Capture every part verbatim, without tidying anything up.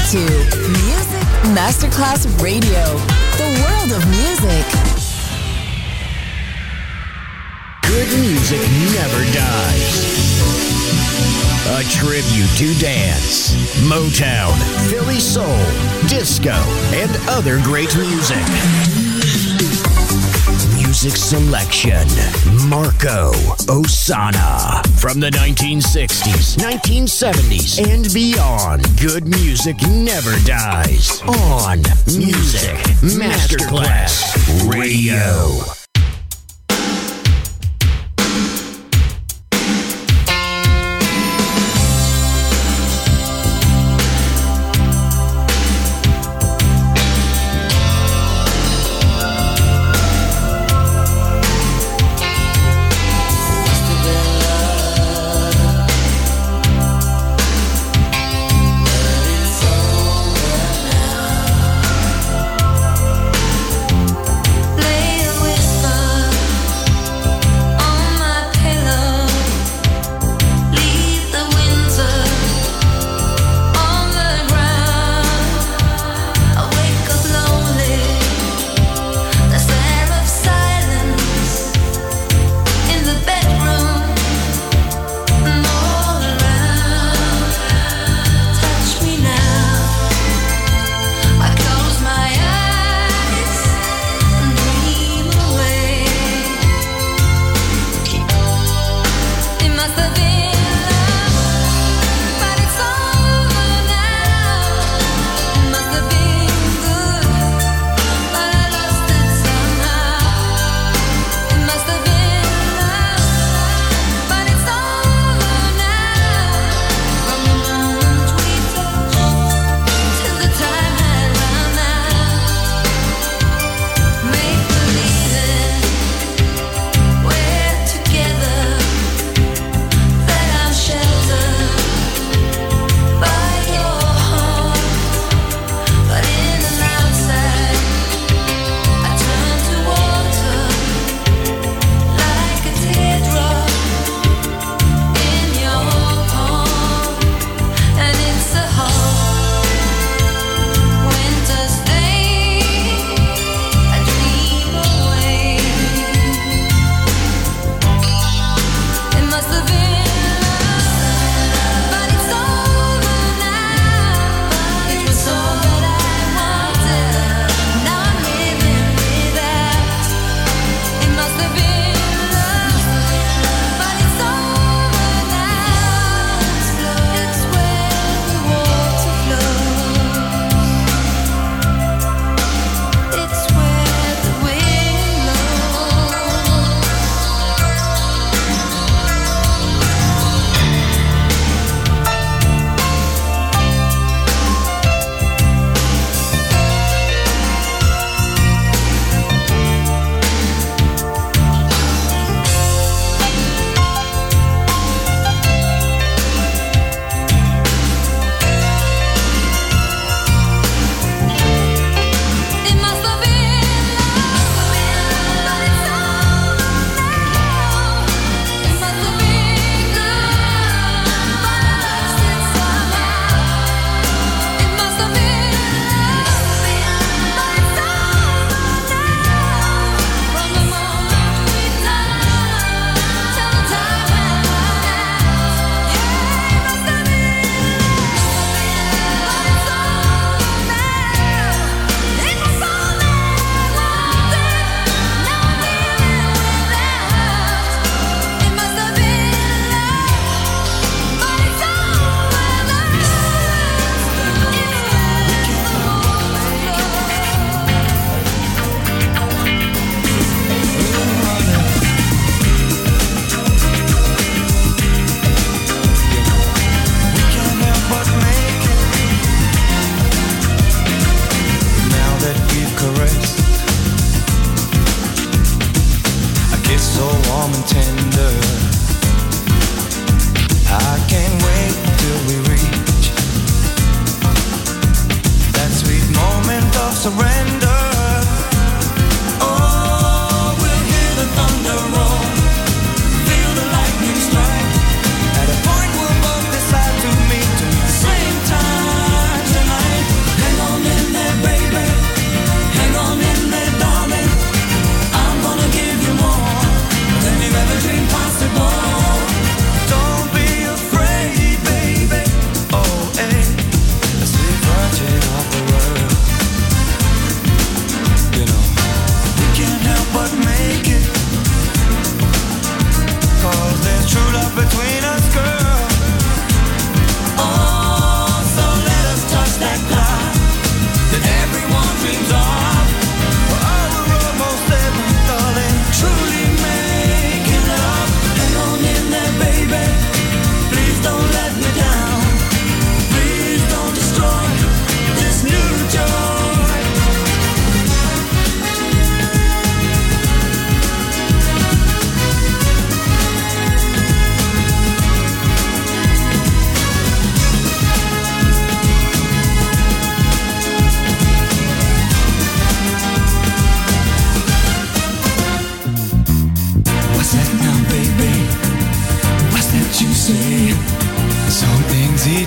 to Music Masterclass Radio, the world of music. Good music never dies. A tribute to dance, Motown, Philly soul, disco, and other great music. Music selection, Marco Ossanna. From the nineteen sixties, nineteen seventies, and beyond, good music never dies. On Music Masterclass Radio. At a point we'll both decide to meet to meet the same time tonight.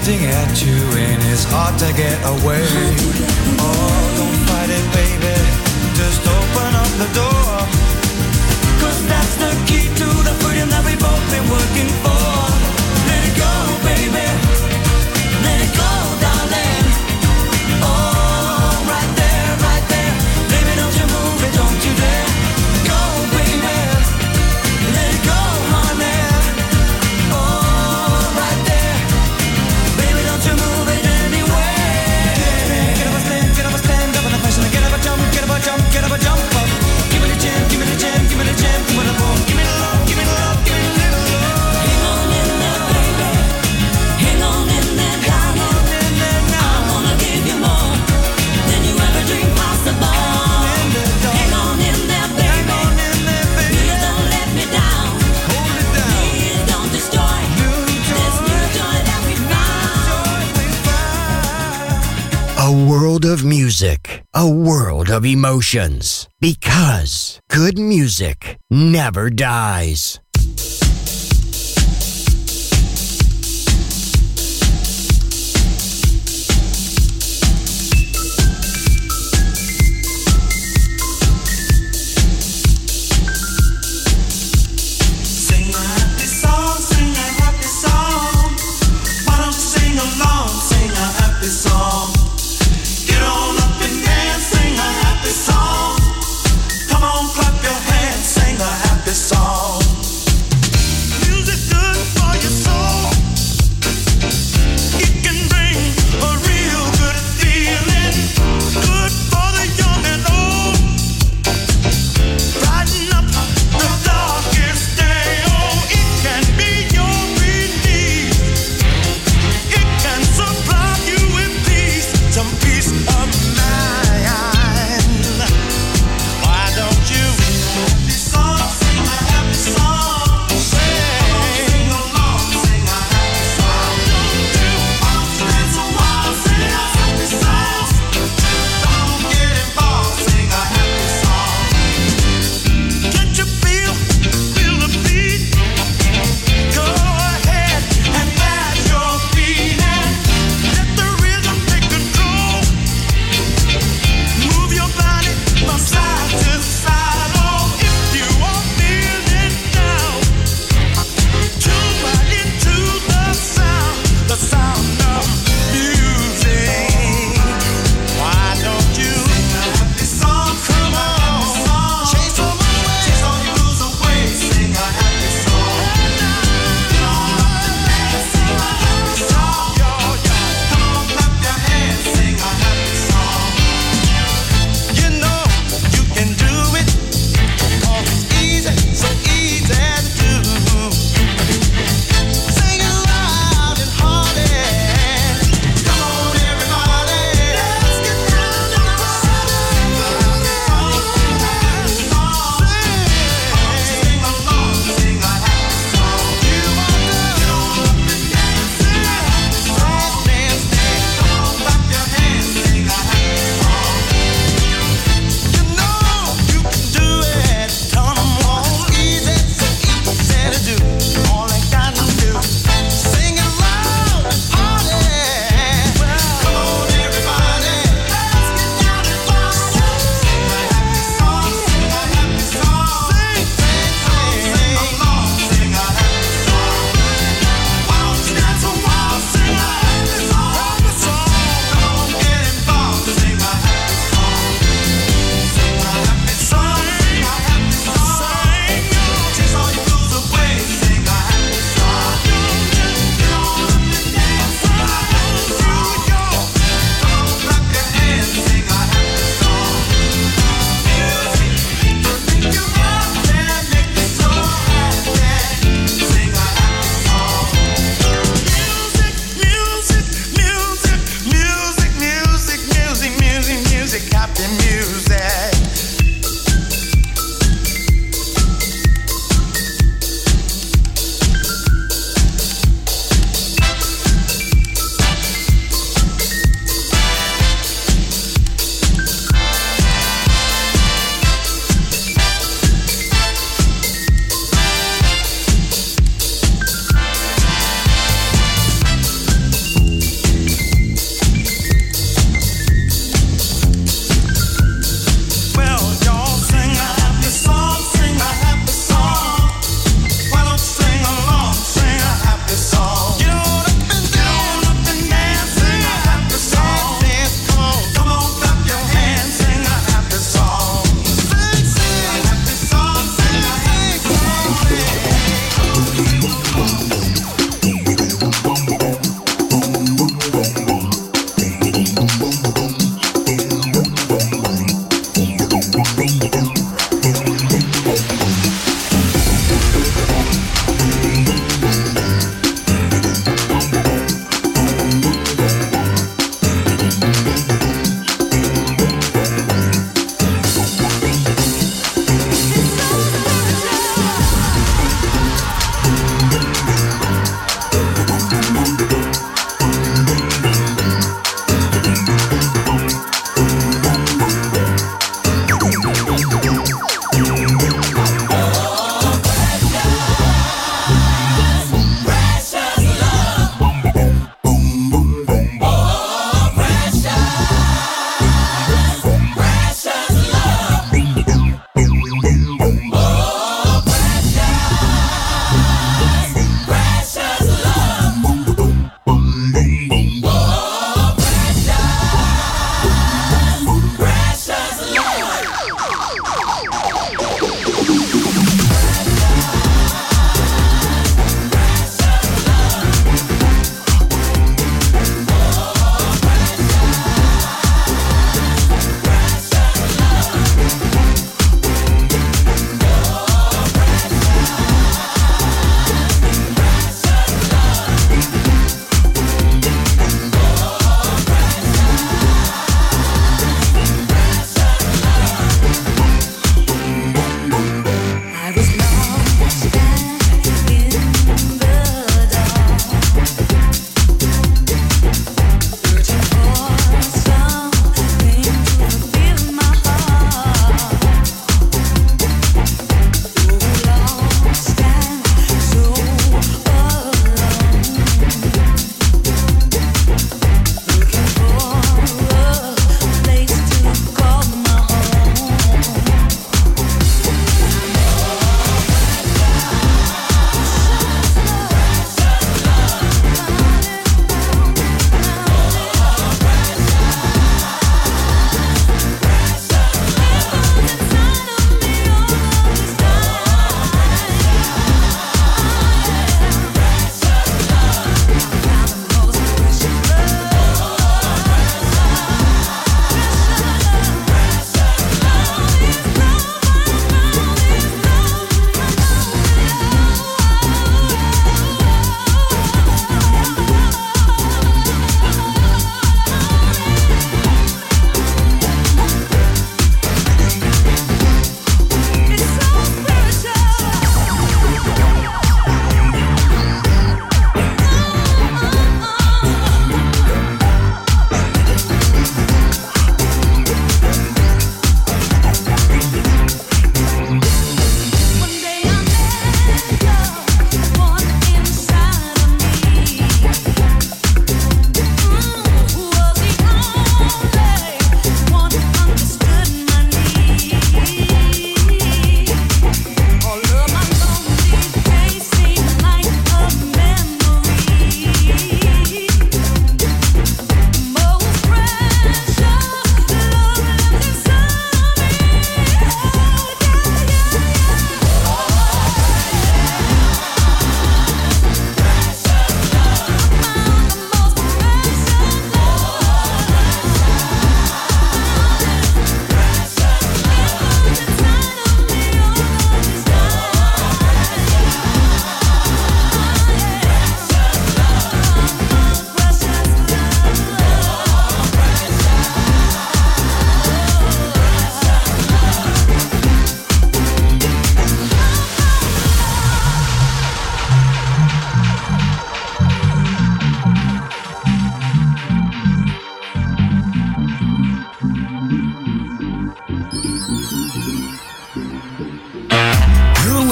pointing at you and it's hard to get away. Oh, don't fight it, baby, just open up the door, 'cause that's the key to the freedom that we've both been working for. Let it go, baby, let it go, darling. Oh, right there, right there, baby, don't you move it, don't you dare. Go, baby, let it go, honey. Oh, right there, baby, don't you move it anyway. Get up a stand, get up a stand up in the fashion, get up a jump, get up a jump, get up a jump up. Give me the jam, give me the jam, give me the jam, give me the boom, give me the love, give me the love, give me the little love. Hang on in there, baby, hang on in there, darling. I'm gonna give you more than you ever dreamed possible. Hang on in there, baby, please don't let me down. Please don't destroy this new joy that we found. A world of music, a world of emotions. Because good music never dies. Sing a happy song, sing a happy song. Why don't you sing along, sing a happy song. Get on up and dance, sing a happy song. Come on, clap your hands, sing a happy song. Music good for your soul. It can bring a real good feeling. Good for the young and old. Brighten up the darkest day. Oh, it can be your relief. It can supply you with peace.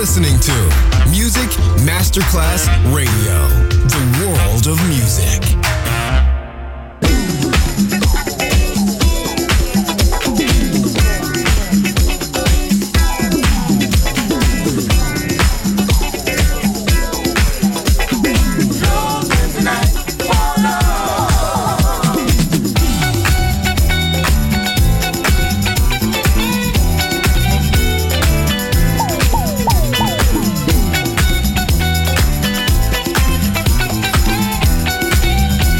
listening to Music Masterclass Radio, the world of music. Thank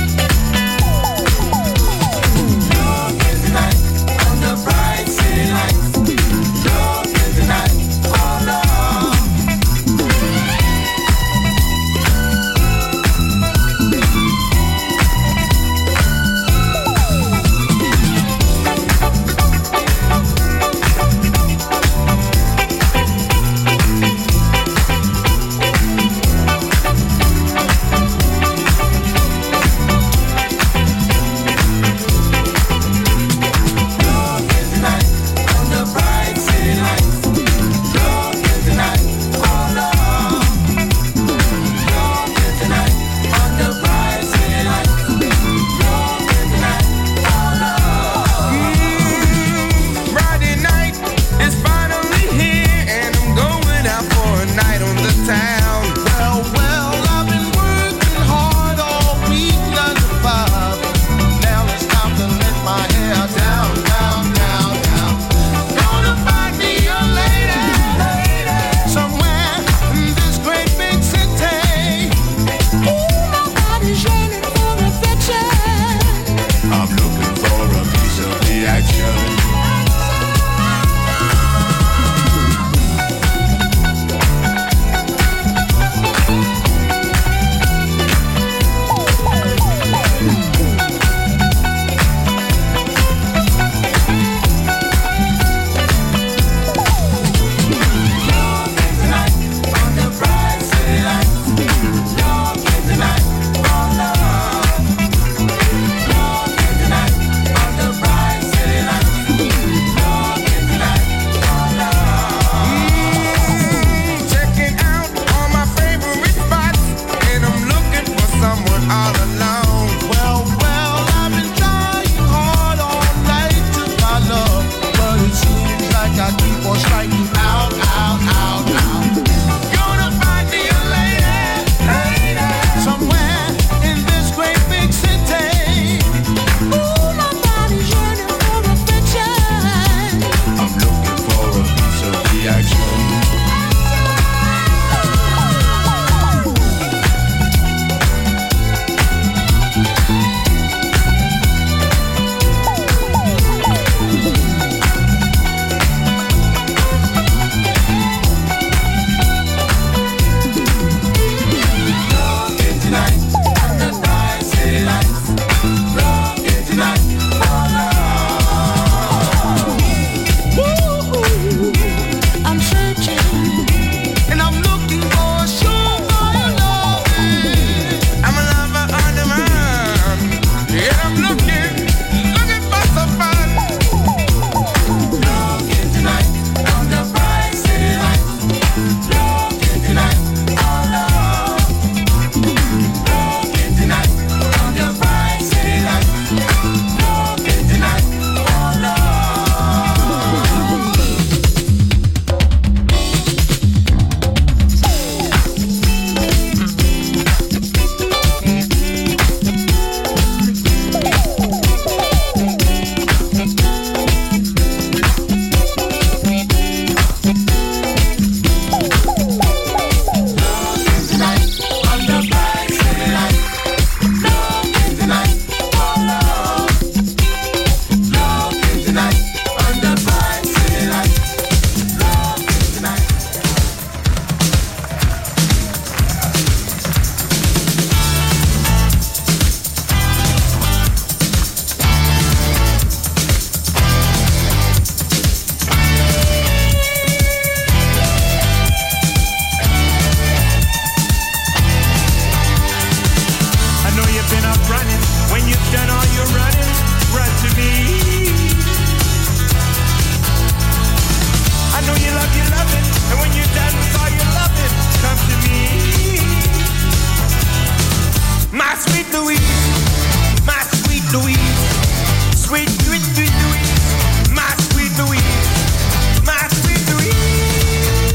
Louise, sweet, sweet, sweet Louise, my sweet Louise, my sweet Louise,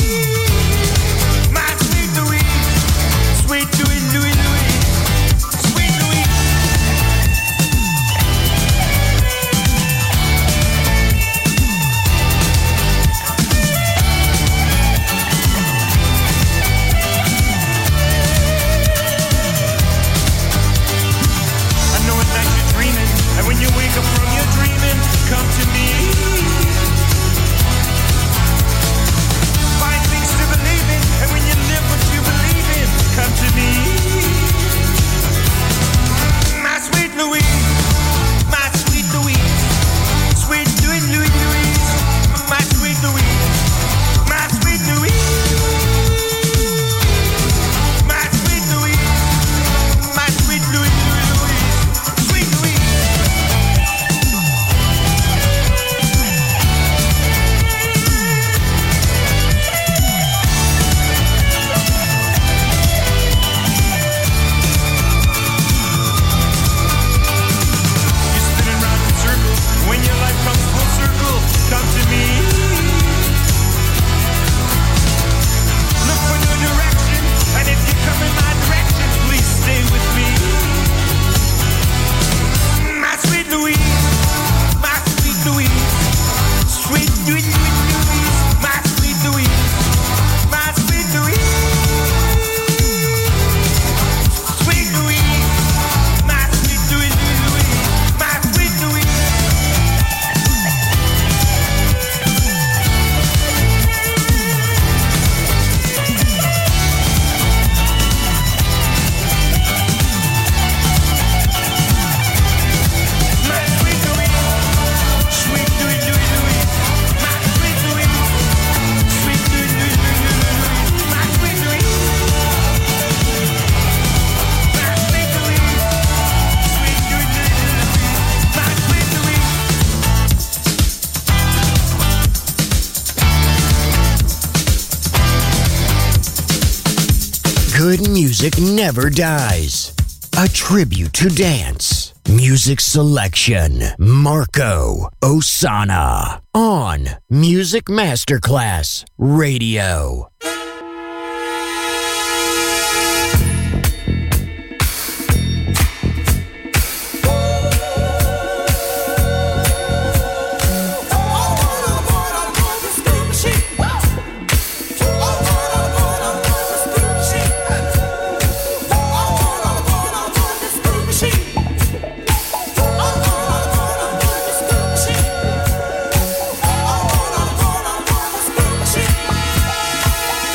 my sweet Louise, sweet Louis, Louis, Louis, sweet Louise. I know at night you're dreaming, and when you wake up from your dreaming, come to me. Find things to believe in, and when you live what you believe in, come to me. My sweet Louise, my sweet Louise, sweet Louis, Louis, Louise, my sweet Louise, my sweet Louise, my sweet Louise, my sweet Louis, Louis, Louise, sweet Louise. You're spinning round in circles. When your life comes full circle, come to me. Look for new direction, and if you come in my direction, please stay with me. My sweet Louise, my sweet Louise, sweet, sweet, sweet Louise, my sweet Louise, my sweet Louise, sweet Louise, my sweet Louise, Louise, my sweet Louise. My sweet Louise, sweet Louis, Louis, Louis, my sweet Louise, sweet Louis, Louis, Louis, Louis, my sweet Louise, my sweet Louise, sweet Louis, Louis, Louis, my sweet Louise. Good music never dies. A tribute to dance. Music selection. Marco Ossanna. On Music Masterclass Radio. She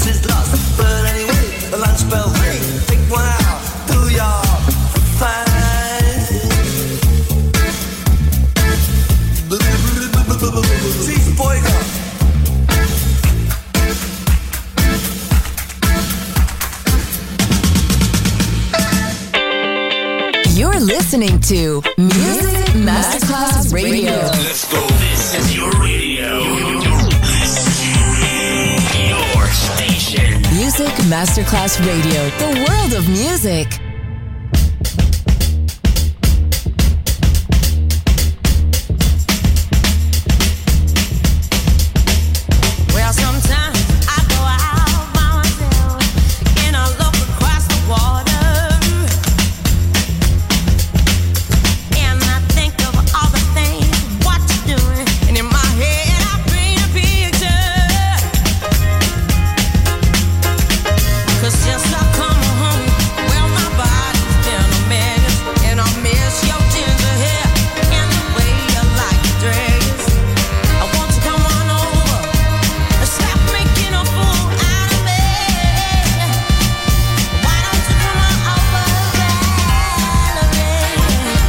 is lost. But anyway, the lunch bell ring. Pick one out, do your fine. Cheese boyga. You're listening to Music Masterclass Radio. Let's go. This is your radio. Your station. Music Masterclass Radio. The world of music. Well, sometimes I go out by myself and I look across the water and I think of all the things what you're doing, and in my head I paint a picture. 'Cause since I come home, well, my body's been a mess, and I miss your ginger hair and the way you like your dress. I want you to come on over. Stop making a fool out of me. Why don't you come on over, Valerie?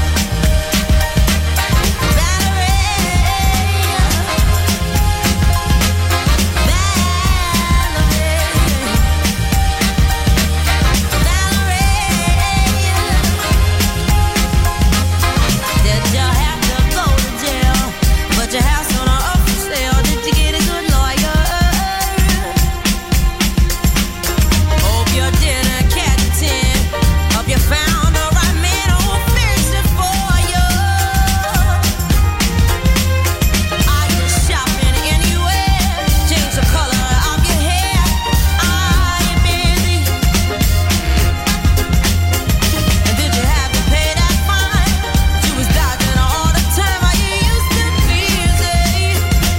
Valerie, did you have to go to jail? But your house on a up for sale. Did you get a good lawyer? Hope you didn't catch a tin. Hope you found the right man who'll fix it for you. Are you shopping anywhere? Change the color of your hair. Are you busy? And did you have to pay that fine? You was dodging all the time. Are you used to busy?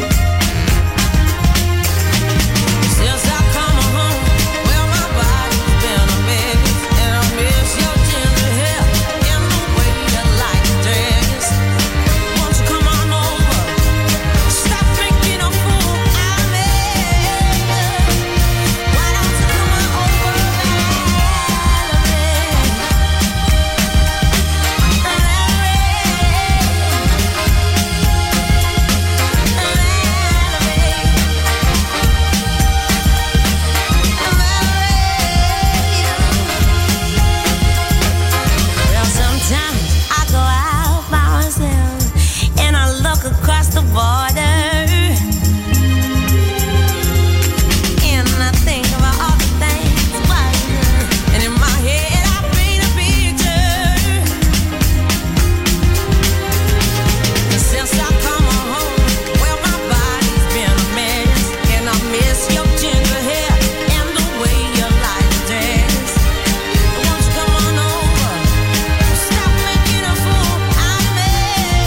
Since I come home, well, my body's been a mess, and I miss your ginger hair and the way you like your dress. Won't you come on over? Stop making a fool out of me. Why don't you come on over, Well, sometimes I go out by myself and I look across the border and I think about all the things what you're doing, and in my head I paint a picture. Since I come home, well, my body's been a mess, and I miss your ginger hair and the way you like your dress. Won't you come on over? Stop making a fool out of me.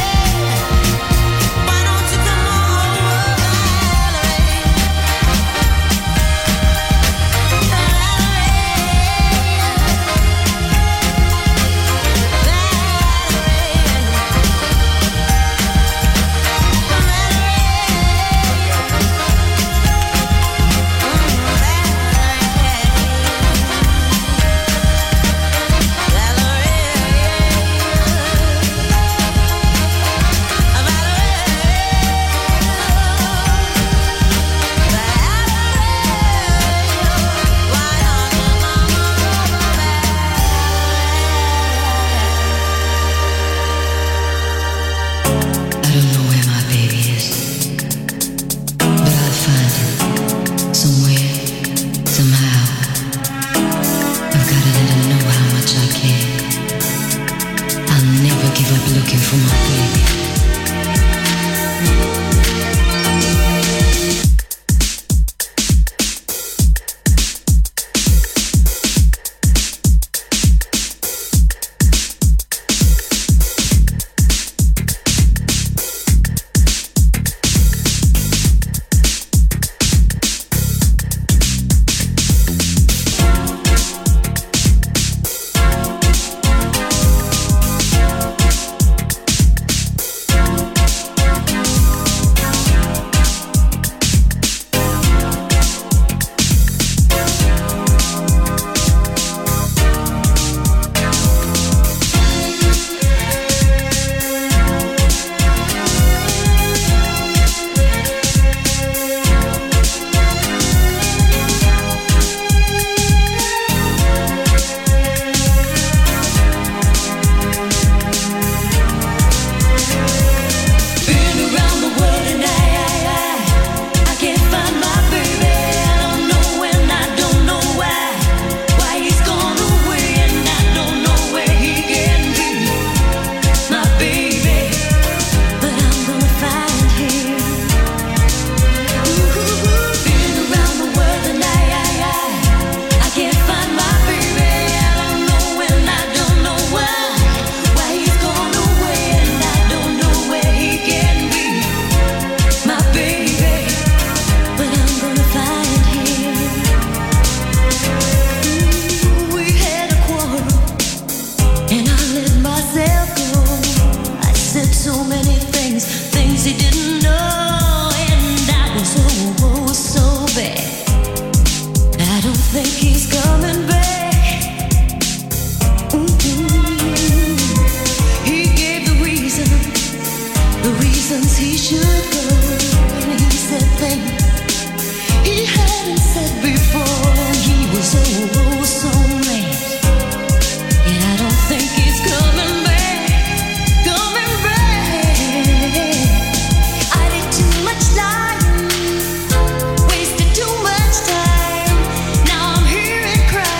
Why don't you come on over, Valerie? I don't know where my baby is, but I'll find him somewhere, somehow. I've got to let him know how much I care. I'll never give up looking for my baby. think he's coming back. Mm-mm. He gave the reason, the reasons he should go, and he said things he hadn't said before, and he was oh, oh so mad. And I don't think he's coming back, coming back. I did too much lying, wasted too much time. Now I'm here and crying.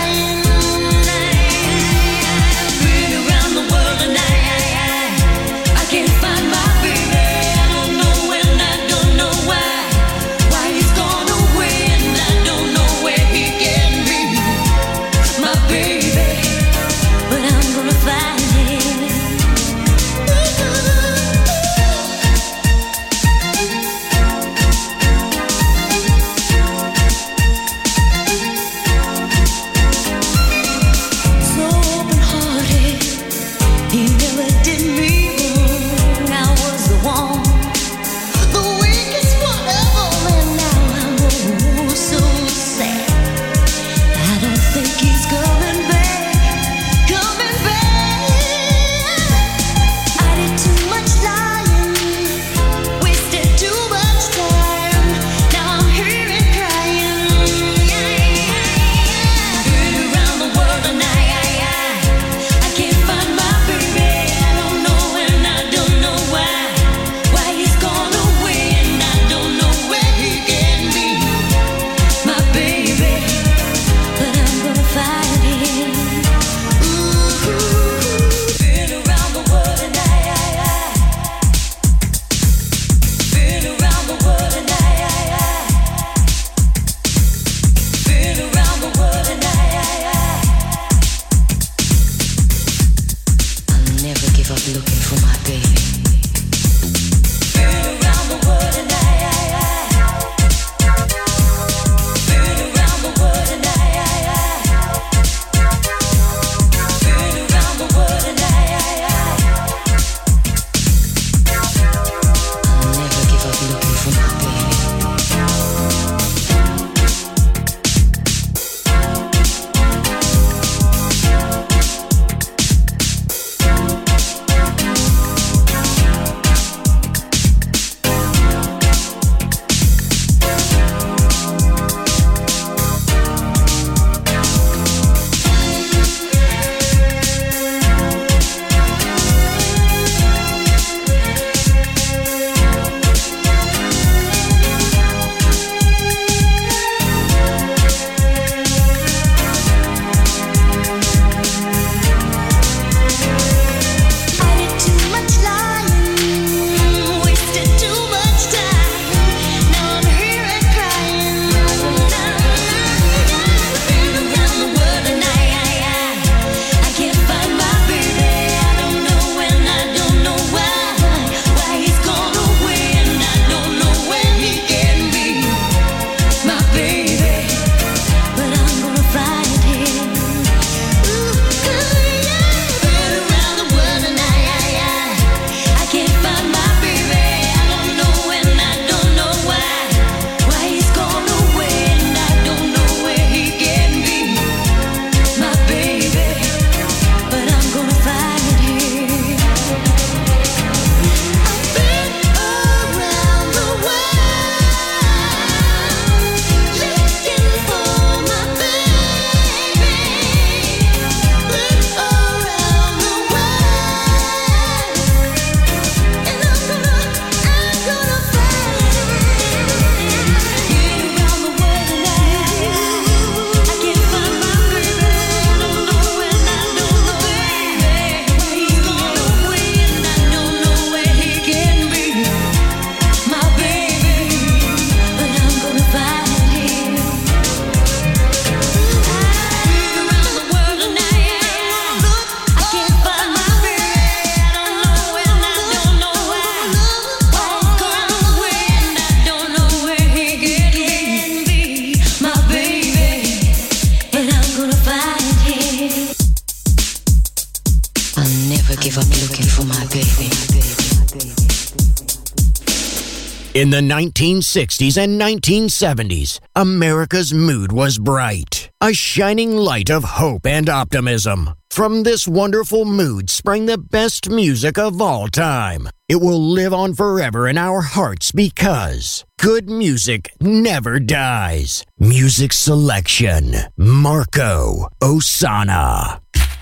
In the nineteen sixties and nineteen seventies, America's mood was bright, a shining light of hope and optimism. From this wonderful mood sprang the best music of all time. It will live on forever in our hearts because good music never dies. Music selection, Marco Ossanna.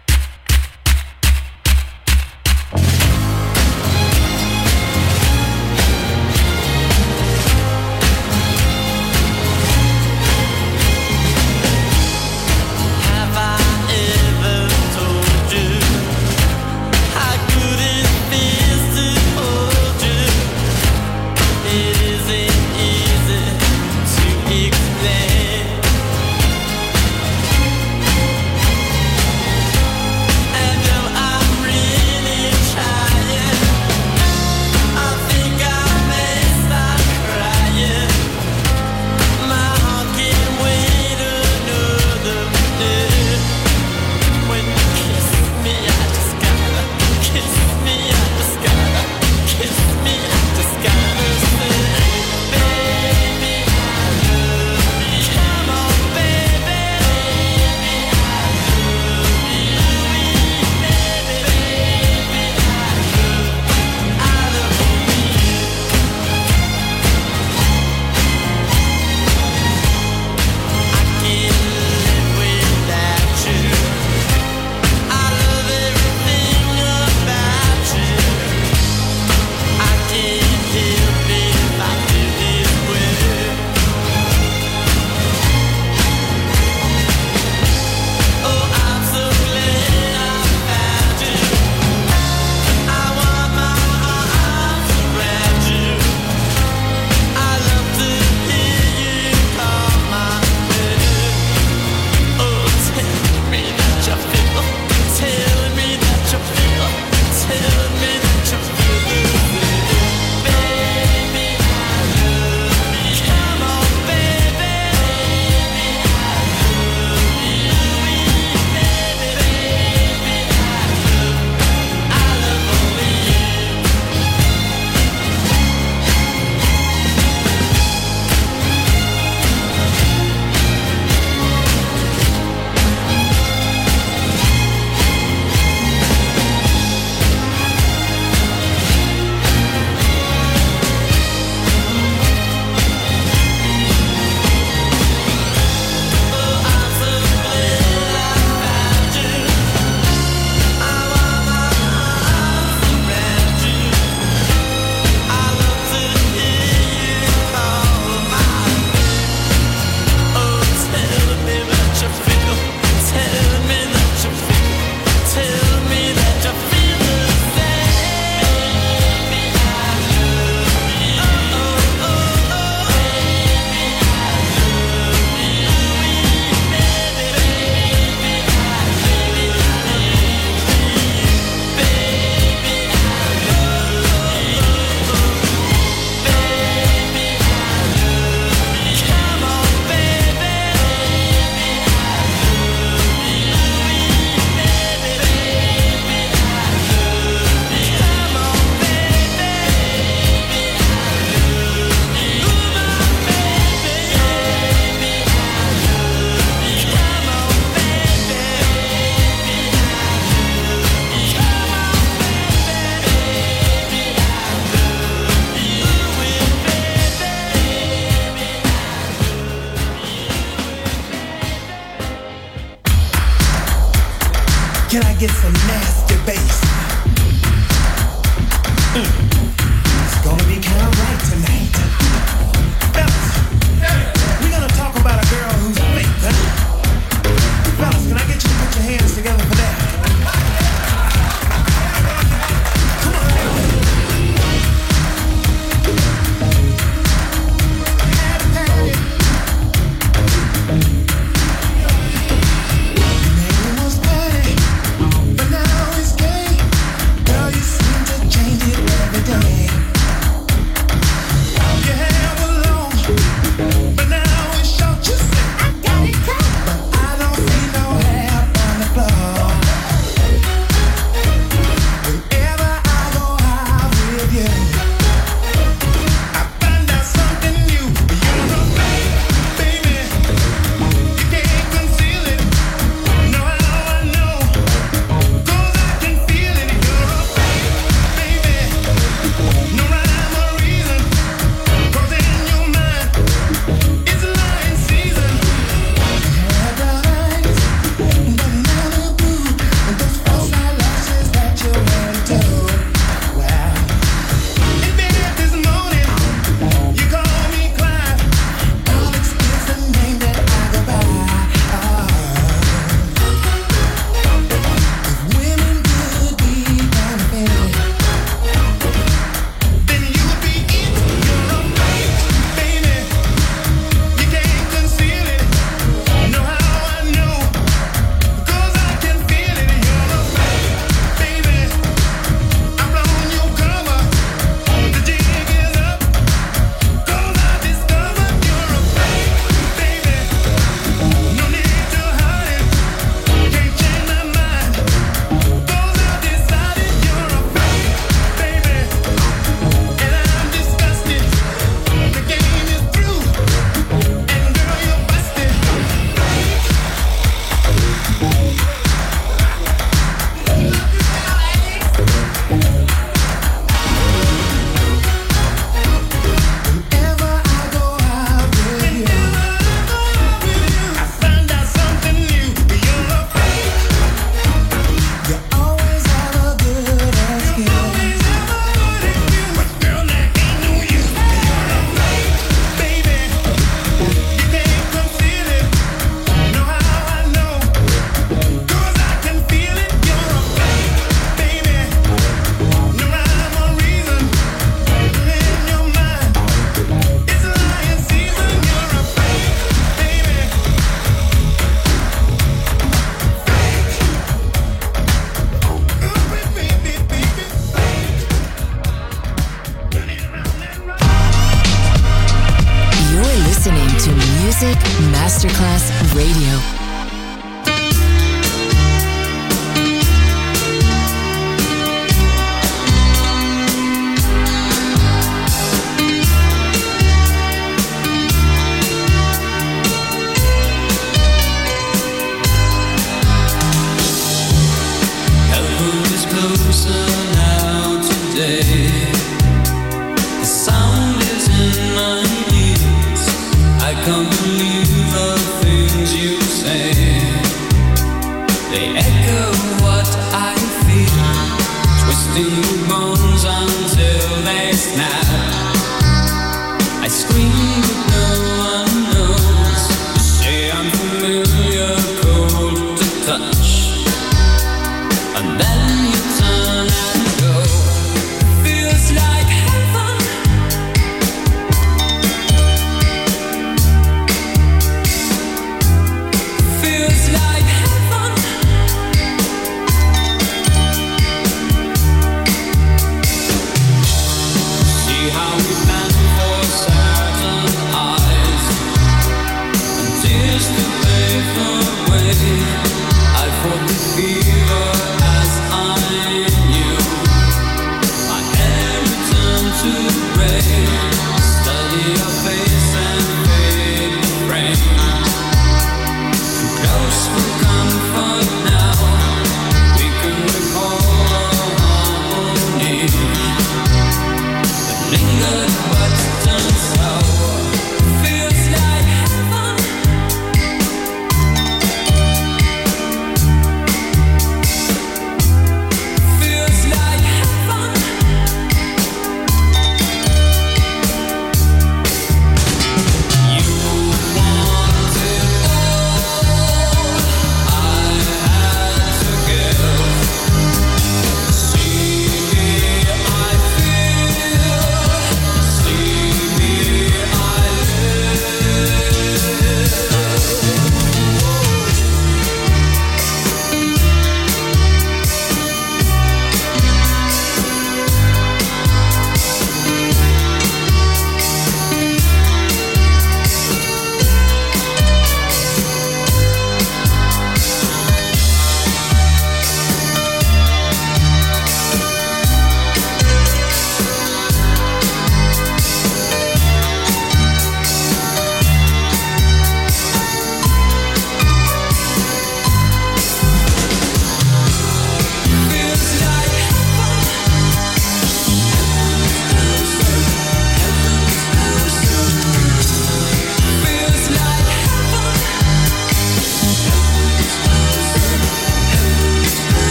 Can I get some nasty bass? Mm. It's gonna be kind of right tonight. Fellas, we're gonna talk about a girl who's fake, huh? Fellas, can I get you to put your hands together for that? Come on. But now it's gay. Girl, you seem to change it every Masterclass Radio. I've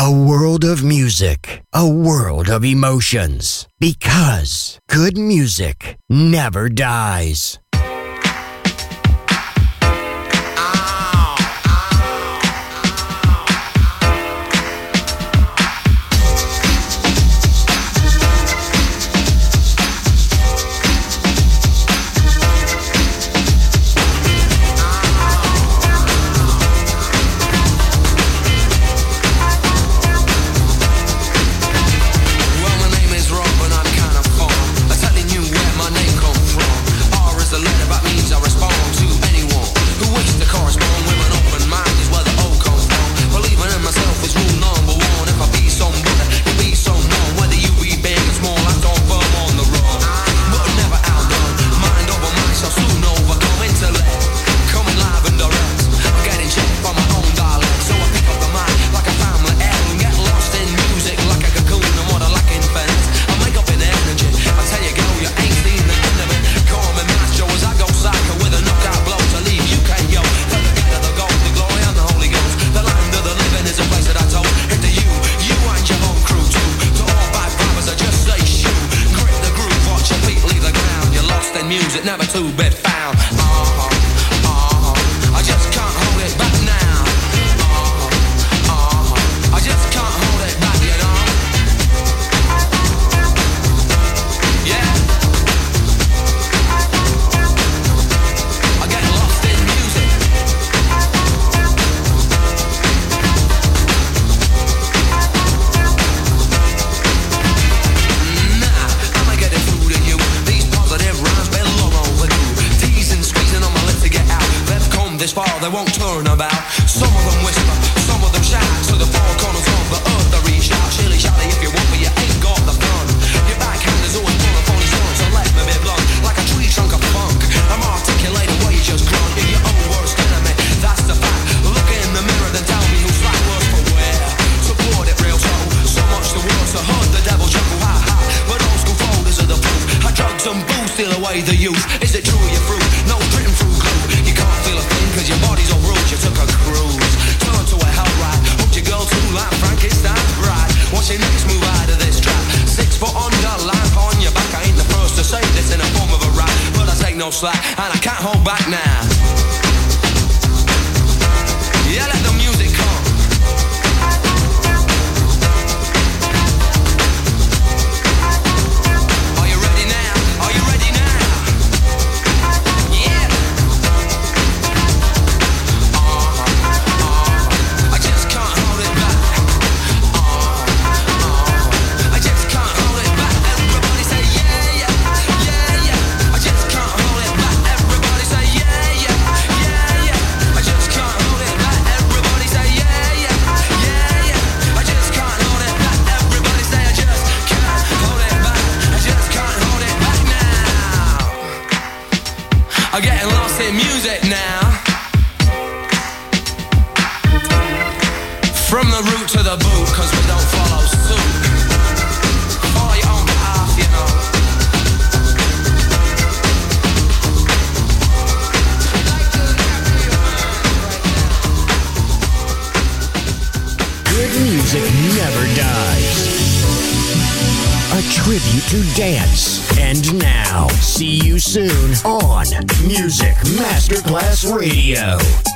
A world of music, a world of emotions. Because good music never dies. Never to be found. Uh-huh, uh-huh. I just can't hold it back now. Uh-huh, uh-huh. I just can't hold it back, you know. Yeah. I get lost in music. Nah, I'ma get it through to you. These positive rhymes belong teasing, squeezing on my lips to get out. They've come this far, they won't turn about. Some of them whisper, some of them shout. To the four corners of the earth they reach out. Shilly shally if you want, but you ain't got the fun. Your backhand is always full of phony stunts. So let me be blunt, like a tree trunk of funk. I'm articulating what you just grunt. You're your own worst enemy, that's the fact. Look in the mirror, then tell me who's right, worse for wear. Support it real slow, so much the worse. I heard the devil chuckle, ha ha. But old school folders are the proof. How drugs and booze steal away the youth. Is it true you're through? No written through glue. You can't feel a thing cause your body's all bruised. You took a cruise, turn to a hell ride. Hooked your girl to like Frankenstein's bride. What's your next move out of this trap? Six foot under, lamp on your back. I ain't the first to say this in a form of a rap, but I take no slack and I can't hold back now. Yeah, let the music come. Are you ready now? Are you ready now? Yeah. Uh-huh, uh-huh. I just can't hold it back. Uh-huh, uh-huh. I just can't hold it back. Everybody say yeah, yeah, yeah, yeah. I just can't hold it back. Everybody say yeah, yeah, yeah, yeah. I just can't hold it back. Everybody say yeah, yeah, yeah, yeah. I just can't hold it back. Everybody say I just can't hold it back. I just can't hold it back now. I'm getting lost in music now. From the root to the boot, cause we don't follow suit. Follow your own path, you know. Good music never dies. A tribute to dance. And now, see you soon on Music Masterclass Radio.